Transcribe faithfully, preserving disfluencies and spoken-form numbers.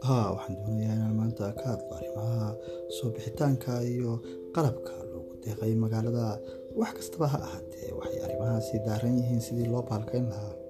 ها waxaan doonayaa inaan maanta ka hadlo arrimaha soo bixitaanka iyo qalabka loogu deeqay magaalada wax kastaba ha ahaatee waxay arrimahaasi daaran yihiin sidii loo baalkayn lahaa